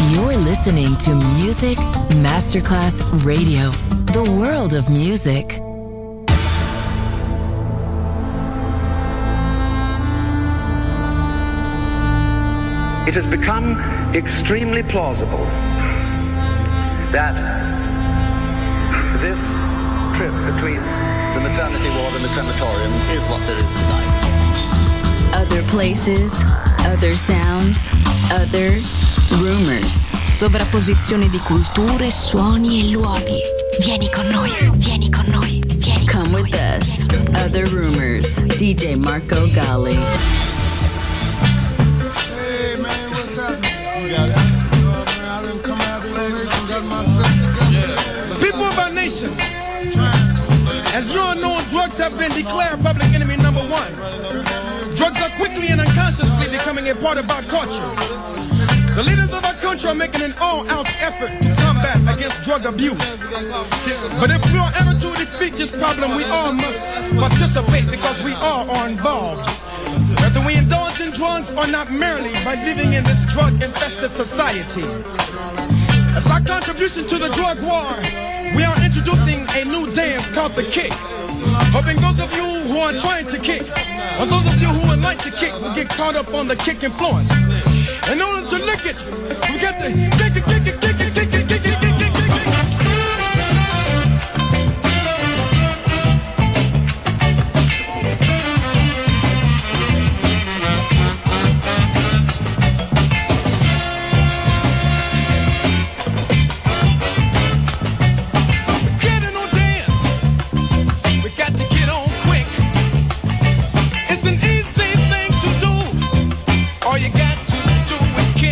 You're listening to Music Masterclass Radio, the world of music. It has become extremely plausible that this trip between the maternity ward and the crematorium is what there is tonight. Other places, other sounds, other rumors. Sovrapposizione di culture, suoni e luoghi. Vieni con noi, vieni con noi, vieni con Come with us. Other rumors. DJ Marco Gally. Hey man, what's happening? You got it. I done come out of the nation, got myself together. People of our nation, as you all know, drugs have been declared public enemy number one. Drugs are quickly and unconsciously becoming a part of our culture. The leaders of our country are making an all-out effort to combat against drug abuse. But if we are ever to defeat this problem, we all must participate because we all are involved. Whether we indulge in drugs or not, merely by living in this drug-infested society. As our contribution to the drug war, we are introducing a new dance called the kick. Hoping those of you who are trying to kick, or those of you who would like to kick, will get caught up on the kick influence. In order to lick it, we got to kick it, kick it, kick it, kick it, kick it, kick it, kick it. All you got to do is kick.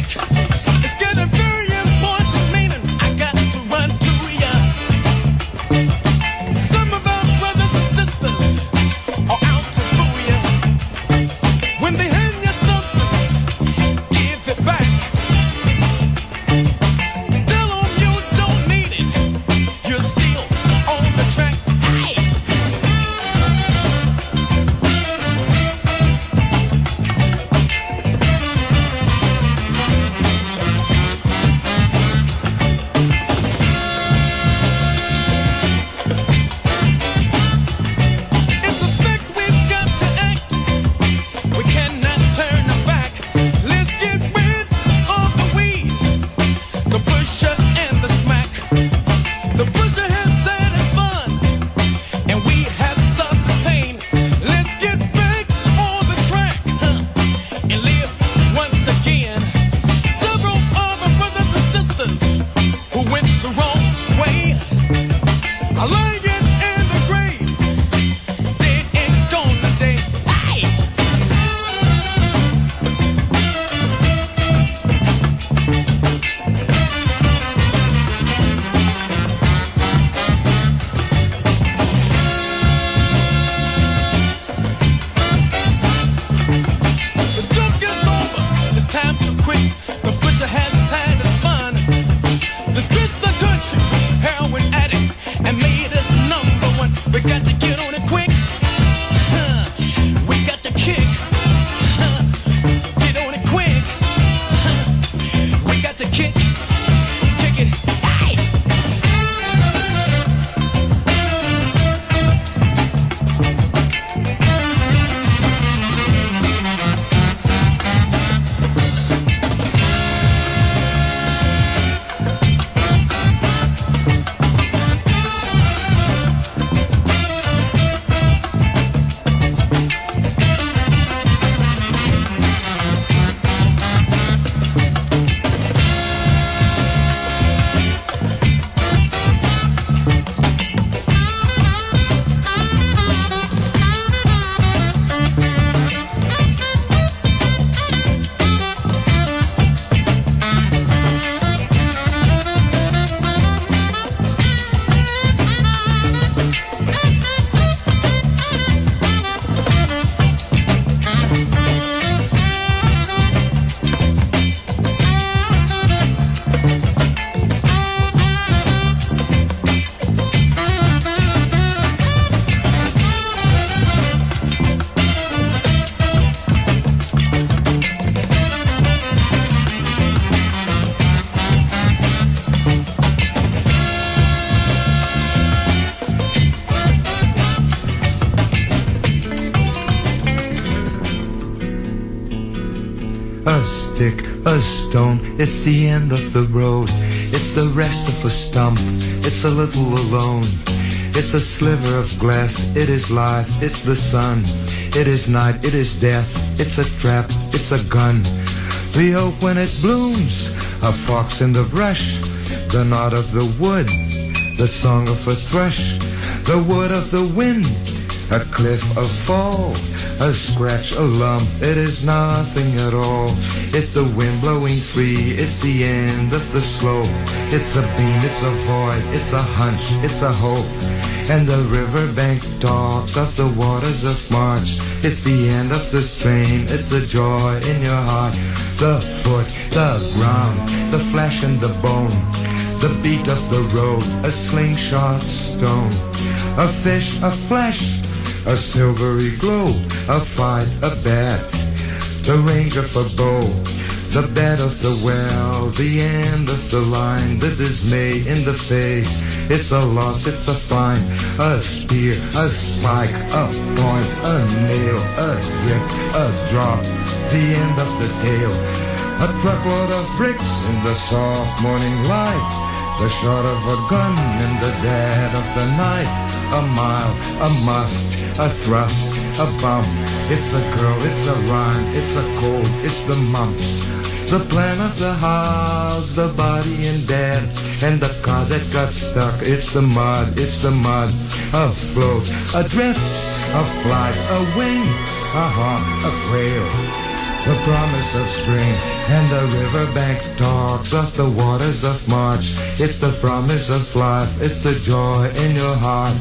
stick, a stone, it's the end of the road. It's the rest of a stump, it's a little alone. It's a sliver of glass, it is life, it's the sun. It is night, it is death, it's a trap, it's a gun. The oak when it blooms, a fox in the brush. The knot of the wood, the song of a thrush. The wood of the wind, a cliff, a fall. A scratch, a lump, it is nothing at all. It's the wind blowing free, it's the end of the slope. It's a beam, it's a void, it's a hunch, it's a hope. And the riverbank talks of the waters of March. It's the end of the strain, it's the joy in your heart. The foot, the ground, the flesh and the bone. The beat of the road, a slingshot stone. A fish, a flesh, a silvery glow. A fight, a bet, the range of a bow. The bed of the well, the end of the line. The dismay in the face, it's a loss, it's a find. A spear, a spike, a point, a nail. A drip, a drop, the end of the tale. A truckload of bricks in the soft morning light. The shot of a gun in the dead of the night. A mile, a must, a thrust, a bump. It's a girl, it's a rhyme, it's a cold, it's the mumps. The plan of the house, the body in bed, and the car that got stuck. It's the mud, it's the mud. A float, a drift, a flight, a wing, a hawk, a quail. The promise of spring, and the riverbank talks of the waters of March. It's the promise of life, it's the joy in your heart.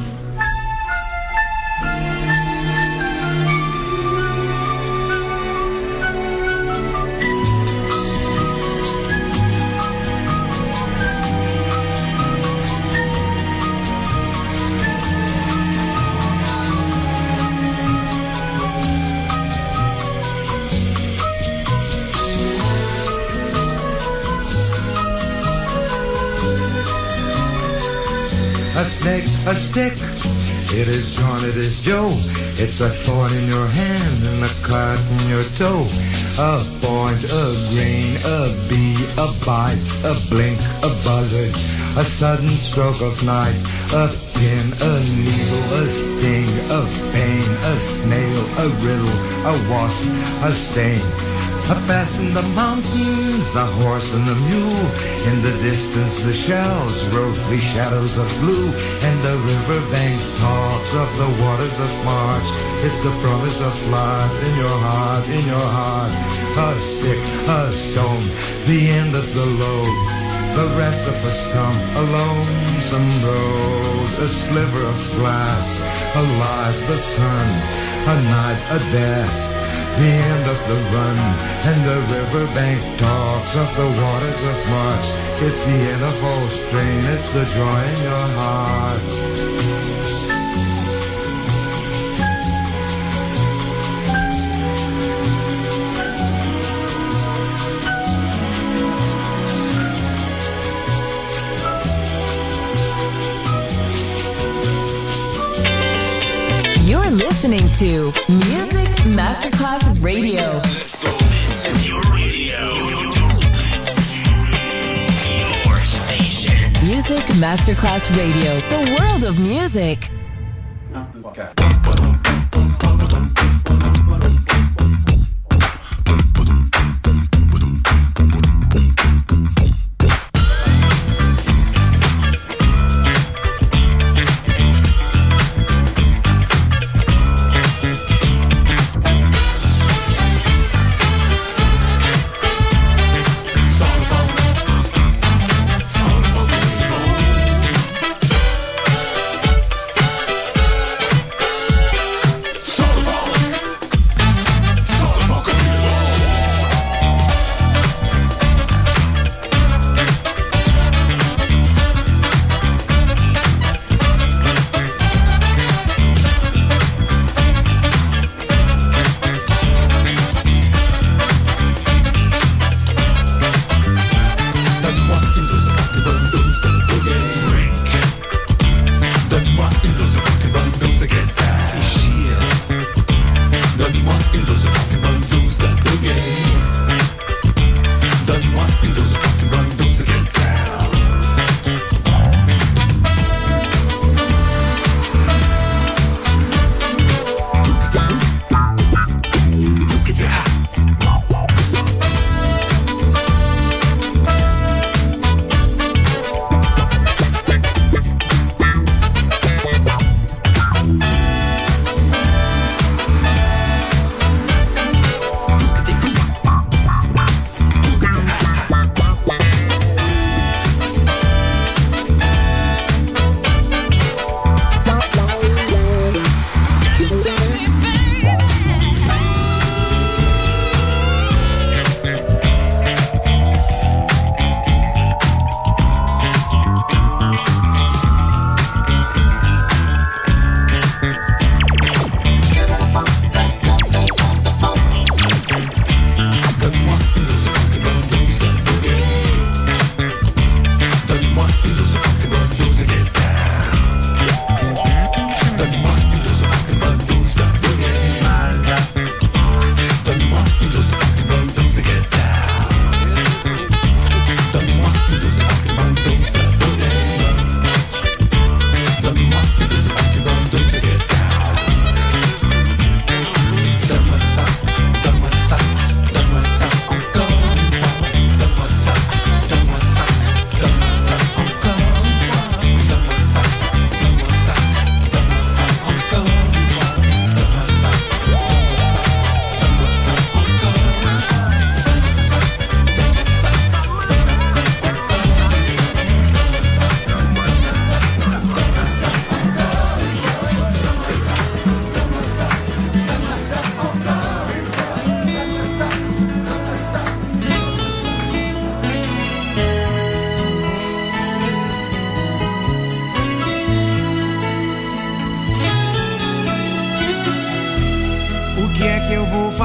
A snake, a stick, it is John, it is Joe. It's a thorn in your hand and a cut in your toe. A point, a grain, a bee, a bite, a blink, a buzzard, a sudden stroke of night. A pin, a needle, a sting, a pain, a snail, a riddle, a wasp, a stain. A pass in the mountains, a horse and a mule. In the distance the shells, rosy shadows of blue. And the riverbank talks of the waters of March. It's the promise of life in your heart, in your heart. A stick, a stone, the end of the load. The rest of a stump, a lonesome road. A sliver of glass, a life, the sun. A night, a death. The end of the run, and the riverbank talks of the waters of March. It's the end of all strain, it's the joy in your heart. You're listening to Music Masterclass Radio. Let's go. This is your radio. Your station. Music Masterclass Radio. The world of music.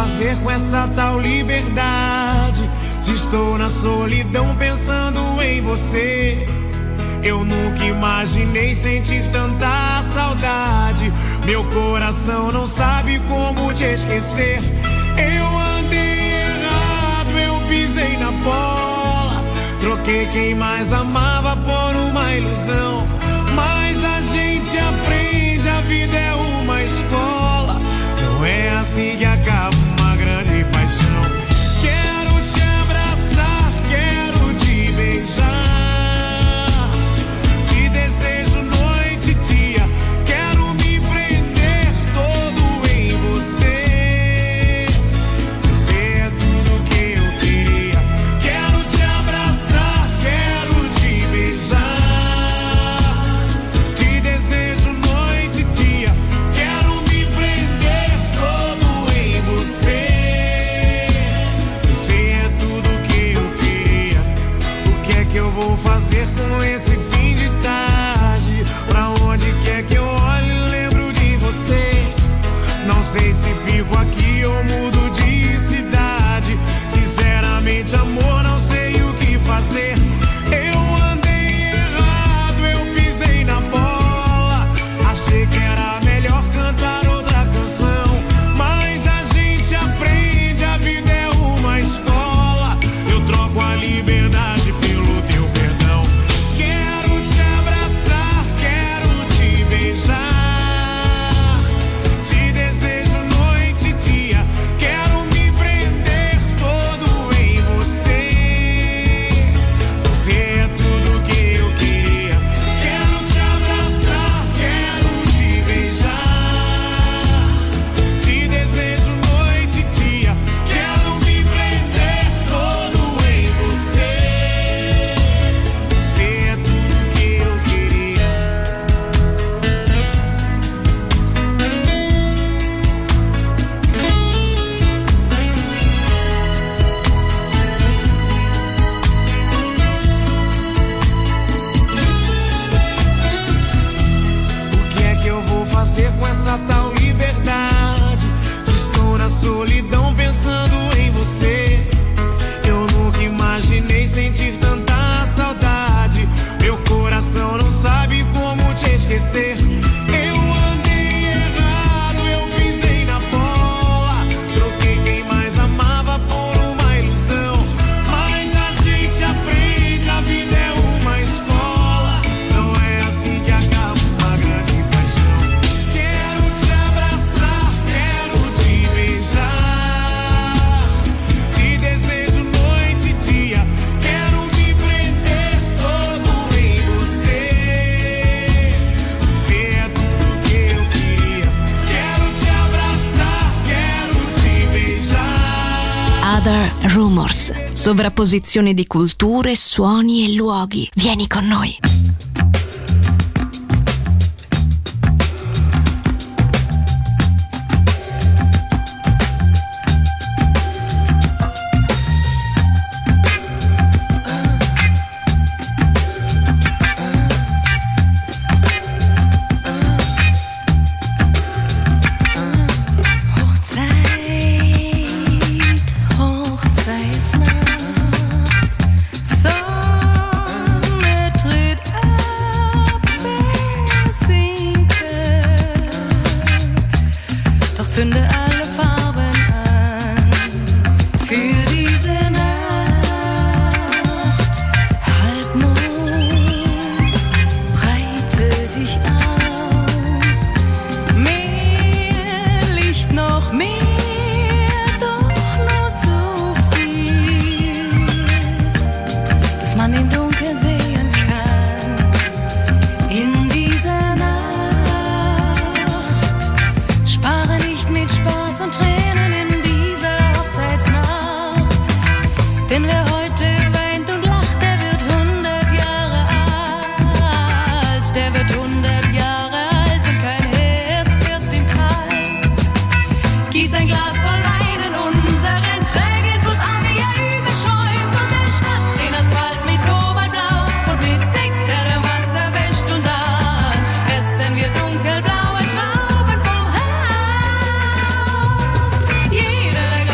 fazer com essa tal liberdade? Se estou na solidão pensando em você, eu nunca imaginei sentir tanta saudade. Meu coração não sabe como te esquecer. Eu andei errado, eu pisei na bola, troquei quem mais amava por uma ilusão. Mas a gente aprende, a vida é uma escola. Não é assim que acaba uma grande paixão. Quero te abraçar, quero te beijar, te desejo noite e dia, quero me prender todo em você. Você é tudo que eu queria. Quero te abraçar, quero te beijar, te desejo noite e dia, quero me prender todo em você. Você é tudo que eu queria. O que é que eu vou fazer com esse fim de tarde? Pra onde quer que eu olhe, lembro de você. Não sei se fico aqui ou mudo de cidade. Sinceramente, amor, não sei o que fazer. Eu andei errado, eu pisei na bola, achei que era melhor cantar outra canção. Mas a gente aprende, a vida é uma escola. Eu troco a liberdade pelo teu perdão. Quero te abraçar, quero te beijar, te desejo noite e dia, quero me prender todo em você. Você é tudo que eu queria. Quero te abraçar, quero te beijar, te desejo noite e dia, quero me prender todo em você. Você é tudo que eu queria. O que é que eu vou fazer com essa tal liberdade? Se estou na solidão pensando em você, eu nunca imaginei sentir tanta saudade. Meu coração não sabe como te esquecer. Eu andei errado, eu pisei na bola, troquei quem mais amava por uma ilusão. Mas a gente aprende, a vida é uma escola. Não é assim que acaba uma grande paixão. Quero te abraçar, quero te beijar, te desejo noite e dia, quero me prender todo em você. Você é tudo que eu queria. Quero te abraçar, quero te beijar. Other Rumors, sovrapposizione di culture, suoni e luoghi. Vieni con noi. Hochzeitsnacht, Sonne tritt ab, versinken, doch zünde alle Farben an für diese Nacht. Halbmond, breite dich aus, mehr Licht, noch mehr. Man im Dunkeln sehen kann in dieser Nacht. Spare nicht mit Spaß und Tränen in dieser Hochzeitsnacht. Denn wer heute weint und lacht, der wird 100 Jahre alt. Der wird 100 Jahre alt und kein Herz wird ihm kalt. Gieß ein Glas voll Wein in unseren trägen Fluss an, wie er überschäumt und erschnappt den Asphalt mit Kobaltblau und mit Sekt, der Wasser wäscht und dann essen wir dunkelblaue Trauben vom Haus. Jeder, der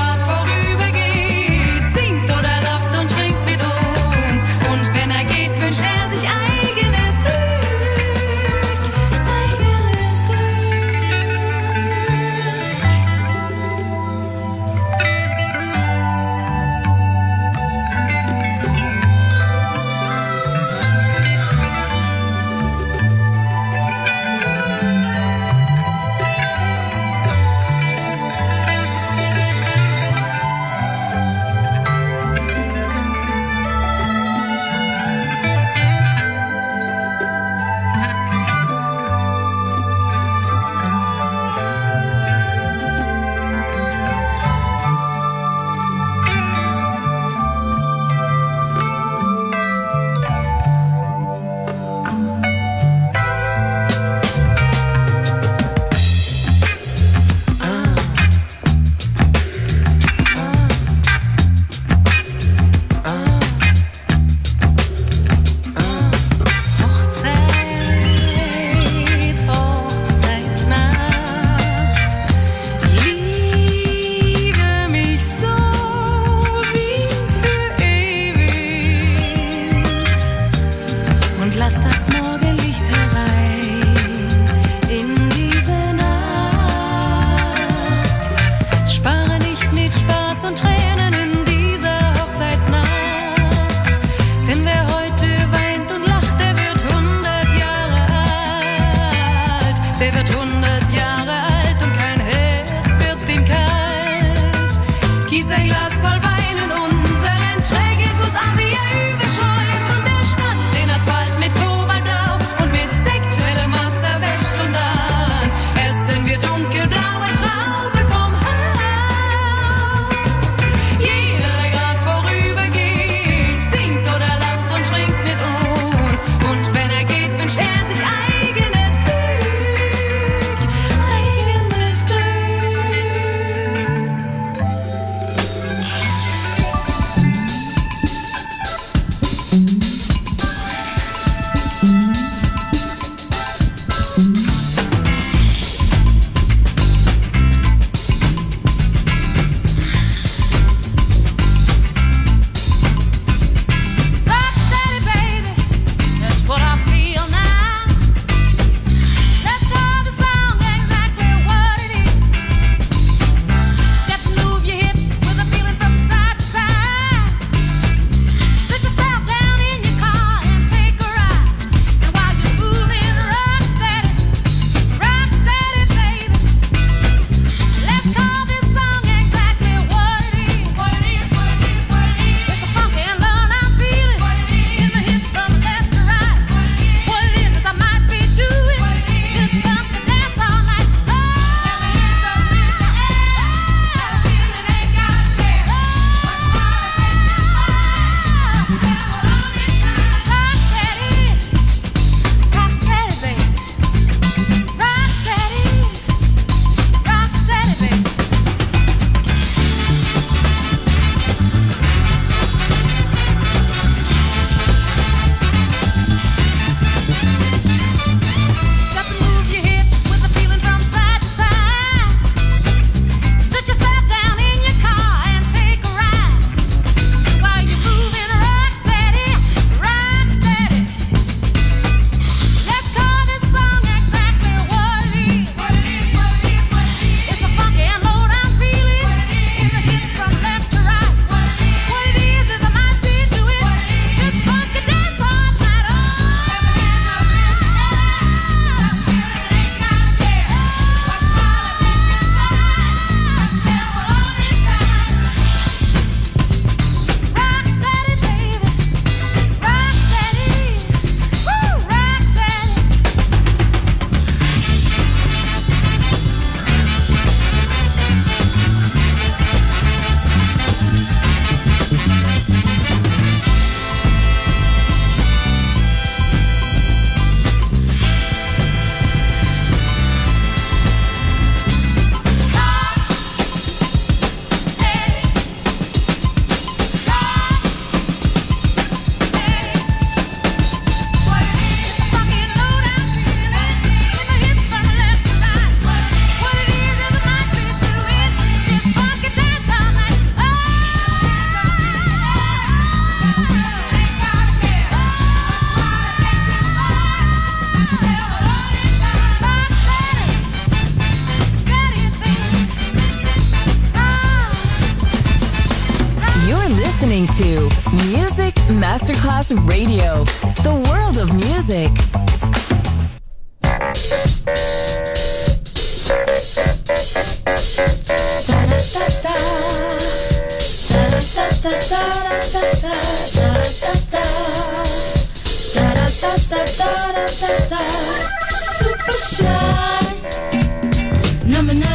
lass das Morgenlicht herein in diese Nacht. Spare nicht mit Spaß und Tränen in dieser Hochzeitsnacht, denn wer heute weint und lacht, der wird 100 Jahre alt. Der wird 100 Jahre alt und kein Herz wird ihm kalt. Gieß ein Glas voll Wein in unseren trägen Fuß an, wie er überschäumt und der Stadt den Asphalt mit Kobaltblau und mit Sekt hellem Wasser wäscht und dann essen wir dunkelblaue Trauben vom Haus. Jeder, der grad vorübergeht, singt oder lacht und trinkt mit uns, und wenn er geht, wünscht er sich eigenes Glück, eigenes Glück. Rock steady, baby, that's what I feel now. Let's call the song exactly what it is. Step and move your hips with a feeling from side to side. Sit yourself down in your car and take a ride. And while you're moving, rock steady, baby. Let's call this song exactly what it is. What it is, what it is, what it is. It's a funky and low I'm feeling. What it is. In my hips from left to right. What it is I might be doing. What it is. Just bump and dance all night long. Feeling ain't got a care. Rock steady, baby. Rock steady, baby. Step and move your hips with a feeling from side to side. Sit yourself down in your car and take a ride. While you're moving, rock steady, rock steady. Let's call this song exactly what it is. What it is, what it is, what it is. It's a funky and low down feeling. What it is. In the hips from left to right. What it is I might be doing. What it is. This funky dance all night long. Rock steady, baby. Rock steady. Woo, rock steady. You're listening to Music Masterclass Radio, the world of music. Super shy, number 9.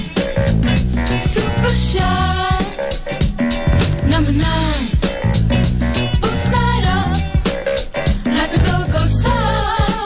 Super shy, number 9. Boots light up like a go-go star.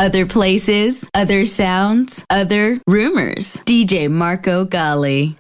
Other places, other sounds, other rumors. DJ Marco Gally.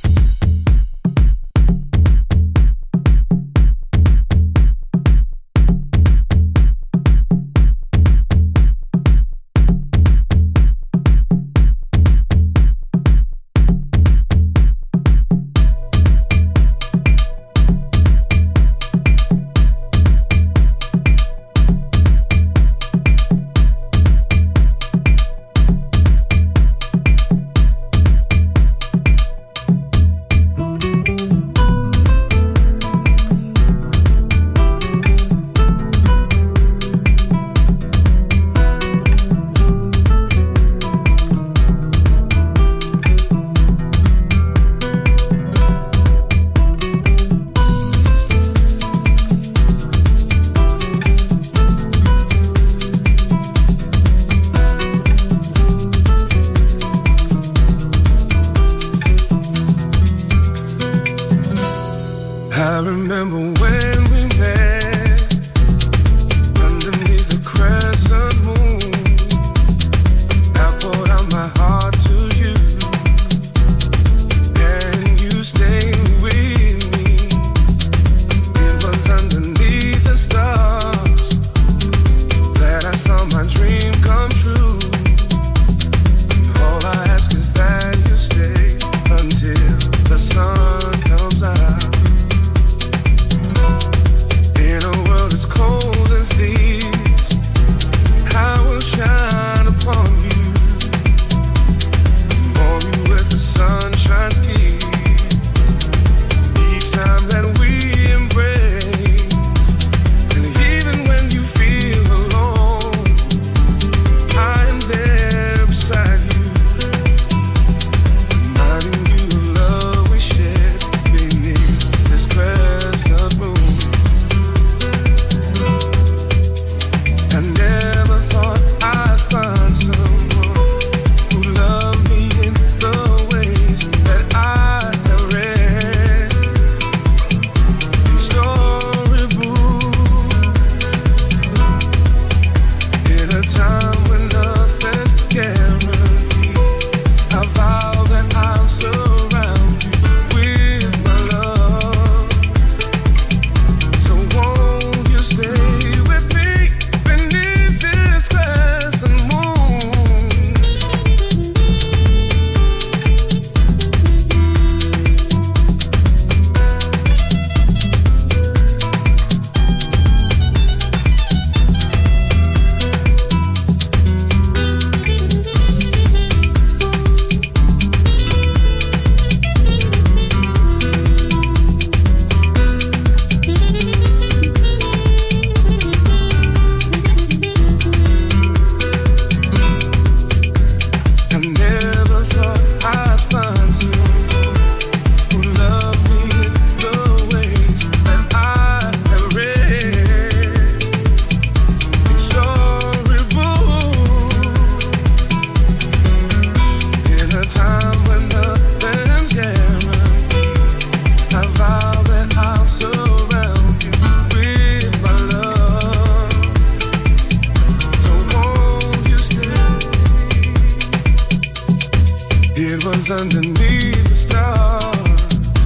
Underneath the stars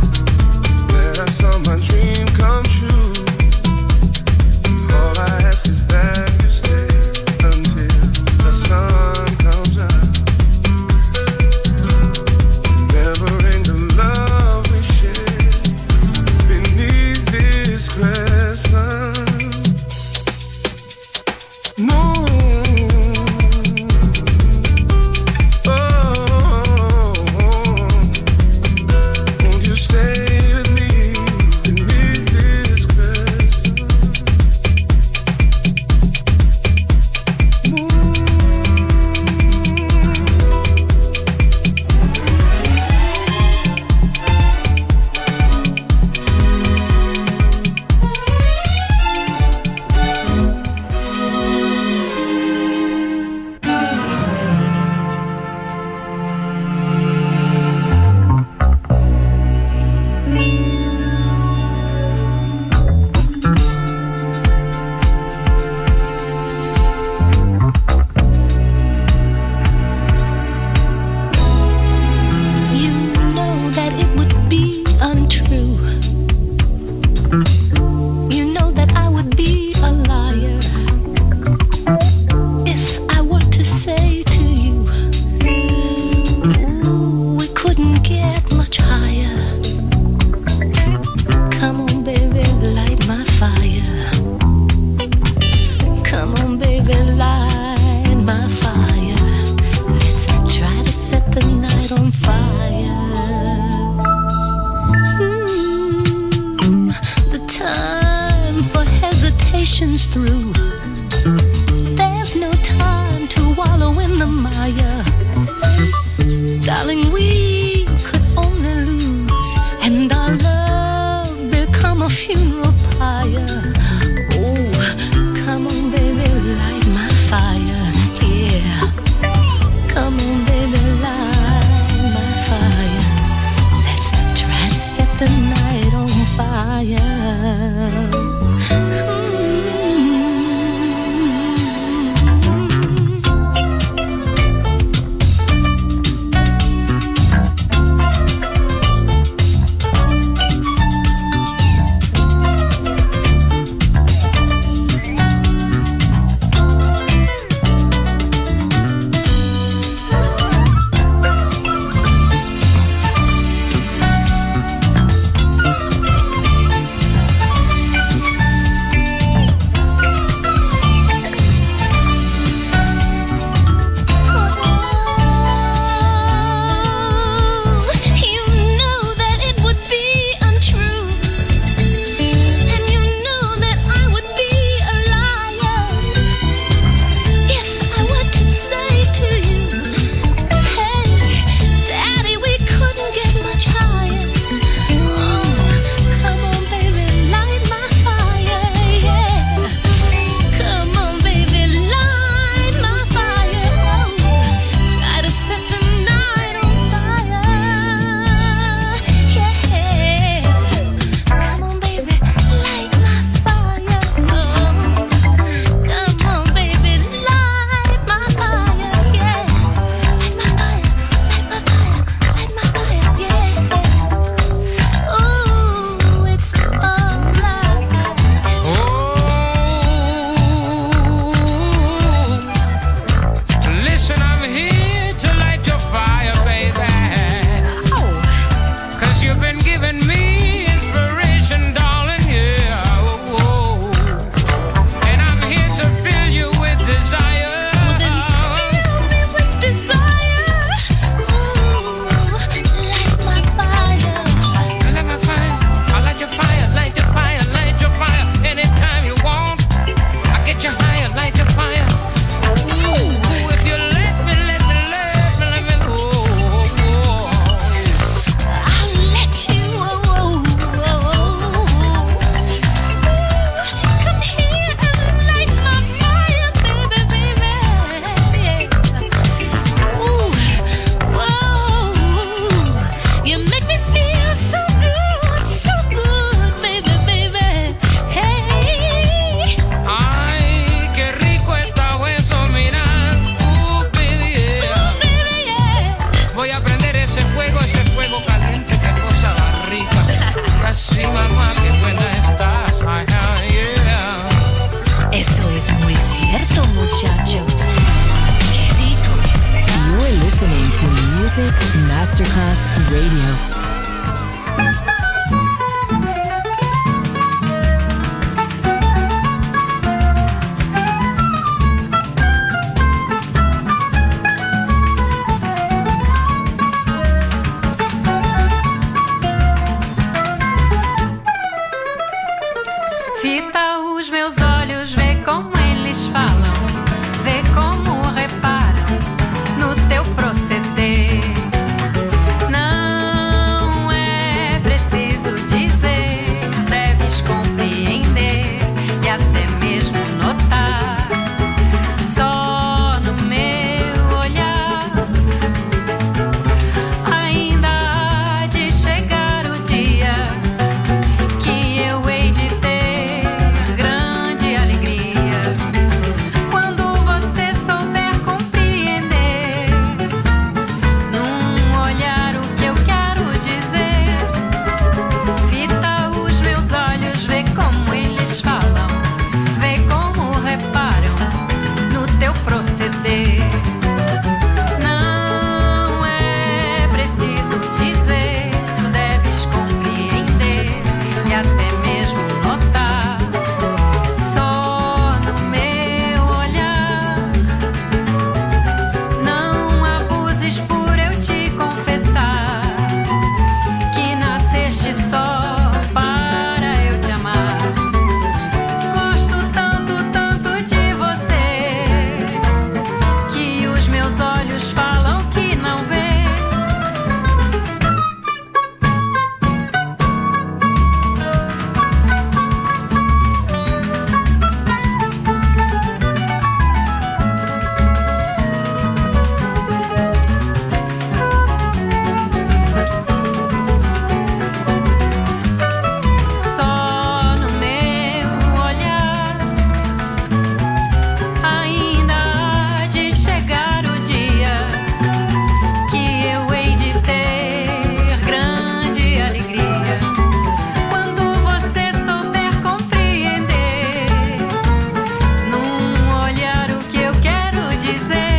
that I saw my dream come true. All I ask is that you stay until the sun comes out. Never end the love we share beneath this crescent moon. Music Masterclass Radio. Fita os meus olhos, vê como eles falam, vê como reparam no teu proceder. Não é preciso dizer, deves compreender e até mesmo notar. Só no meu olhar ainda há de chegar o dia que eu hei de ter grande alegria quando você souber compreender num olhar o que eu quero dizer. Fita os meus olhos, vê como eles falam, vê como reparam no teu proceder. Não é preciso dizer, deves compreender e até mesmo notar. Só no meu olhar não abuses por eu te confessar que nasceste só para eu te amar. Gosto tanto, tanto de você que os meus olhos falam que não vê. Só no meu olhar ainda há de chegar o dia que eu hei de ter grande alegria quando você souber compreender num olhar o que eu quero dizer.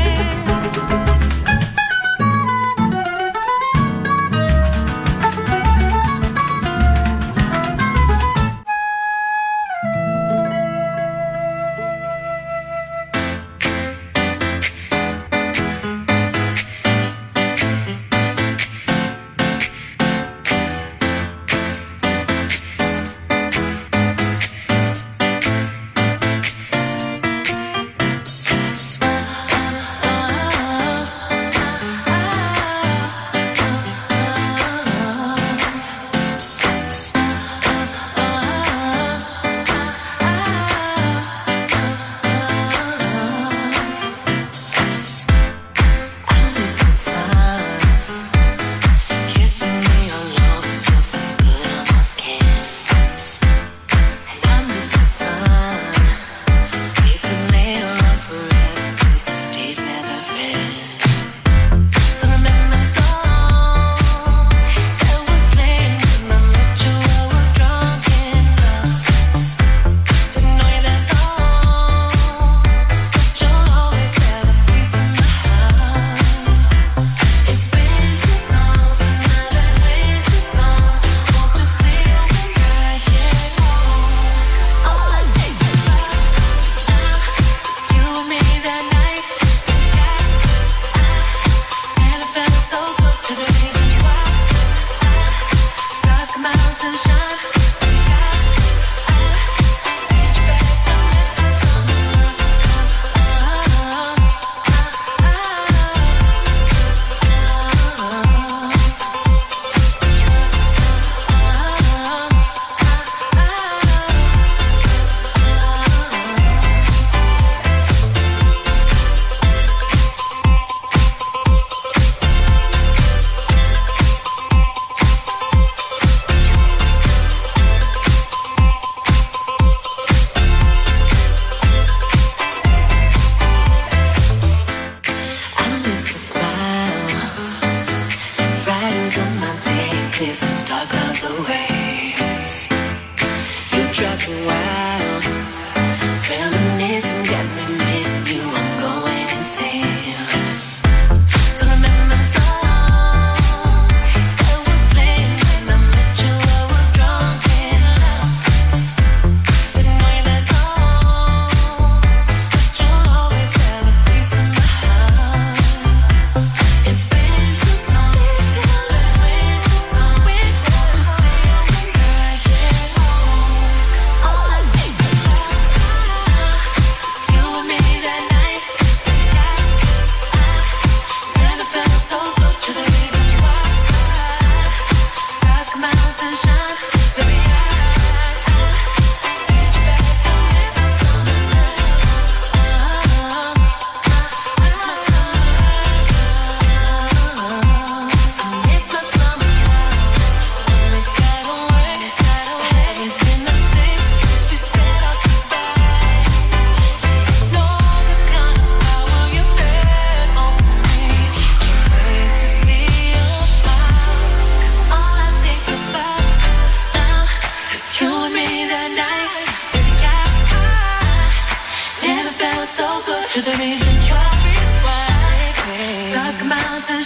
Still remember the song.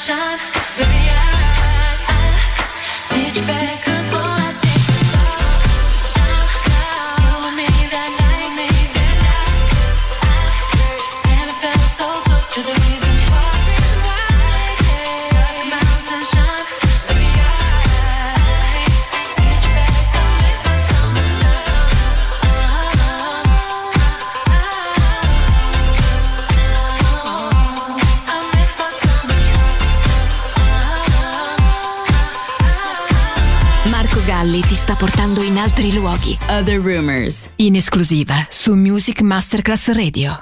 sunshine, baby, I need you back, 'cause all I think about now, you and me that night, never felt so good to the reason why. Stars come out and shine, baby, I need you back, I miss my summer love. I miss my summer love. Marco Galli ti sta portando in altri luoghi. Other Rumors. In esclusiva su Music Masterclass Radio.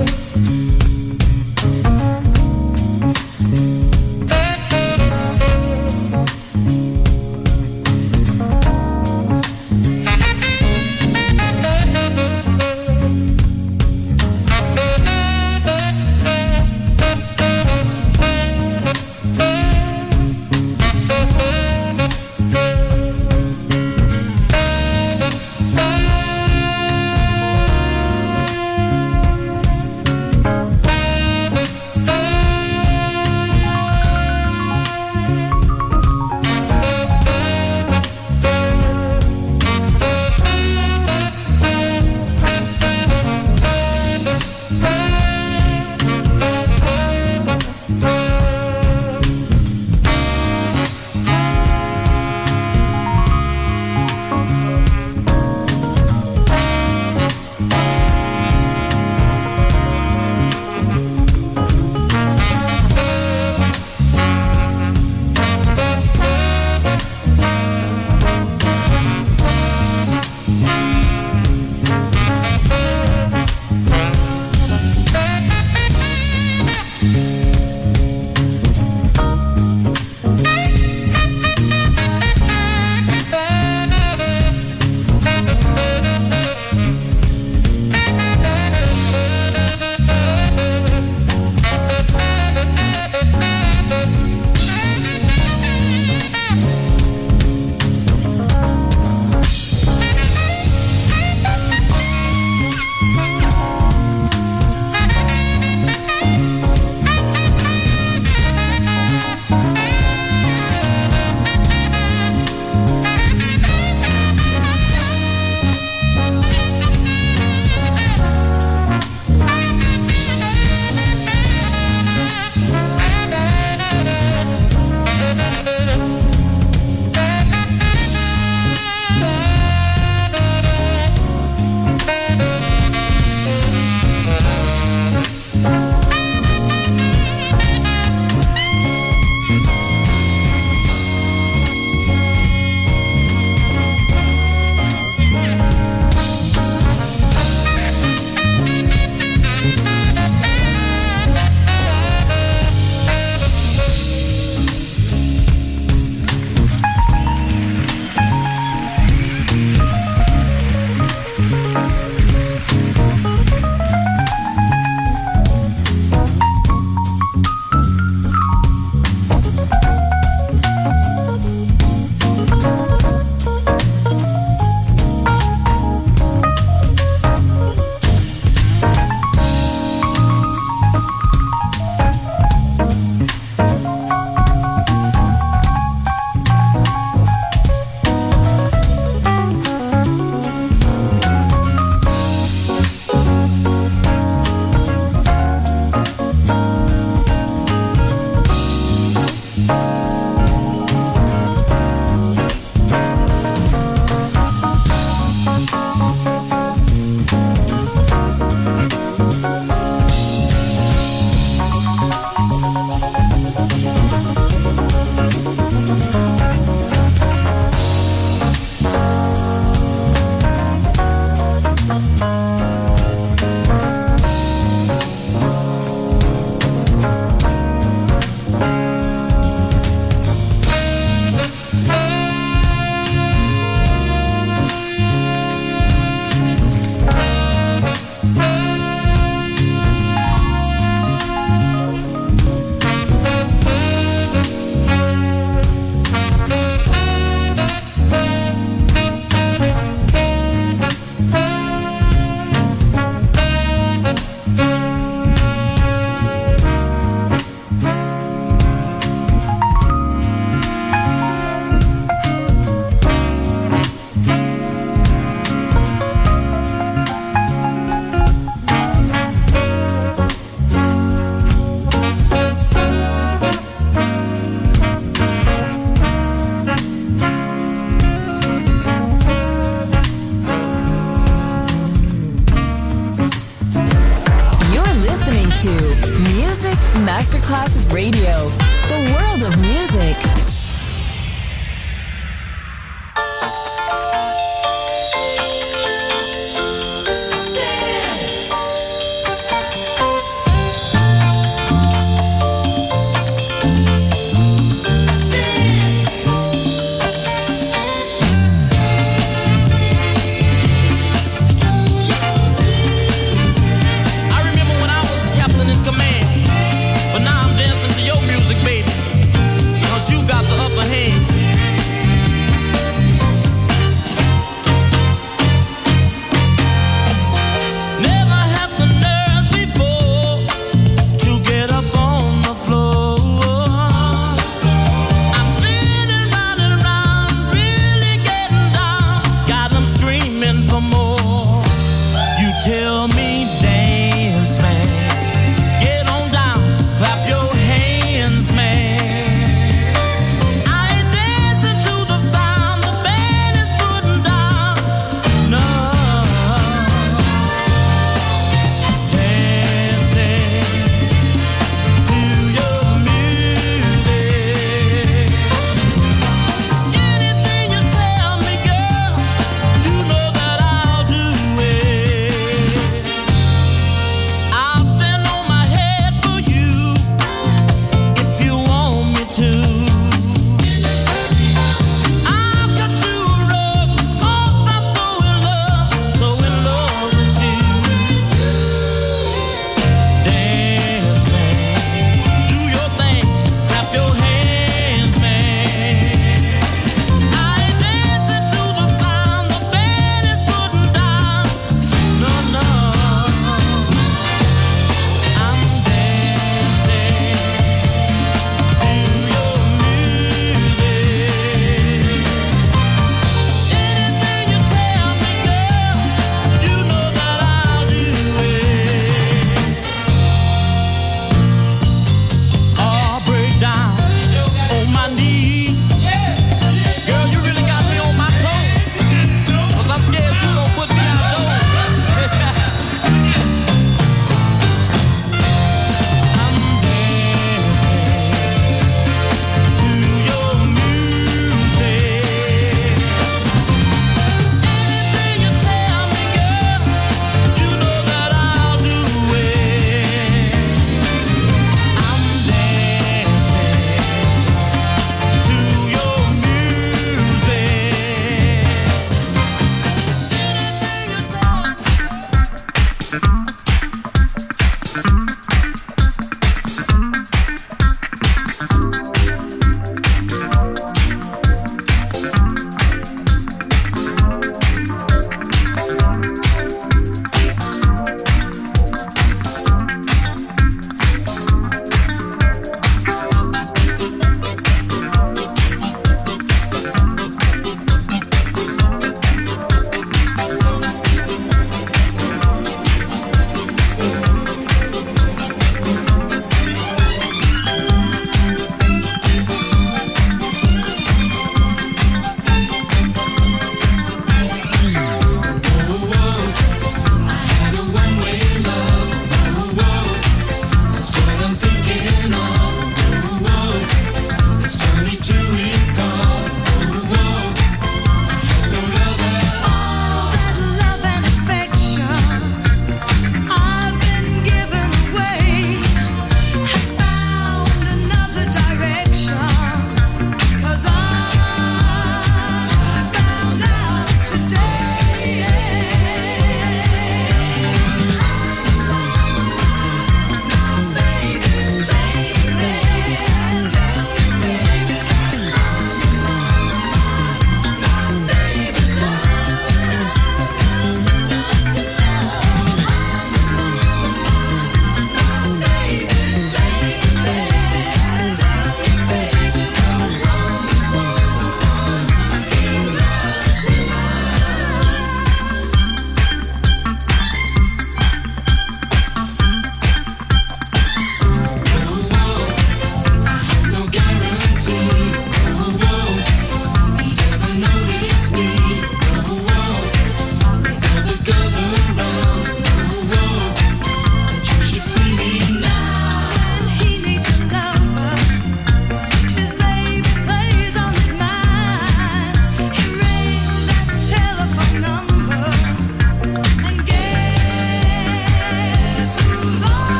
Masterclass Radio, the world of music.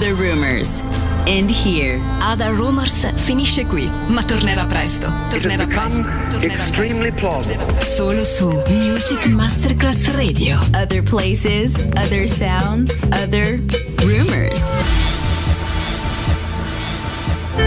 Other Rumors. End here. Other Rumors finisce qui, ma tornerà presto. Tornerà presto. Extremely plausible. Solo su Music Masterclass Radio. Other places, other sounds, other rumors.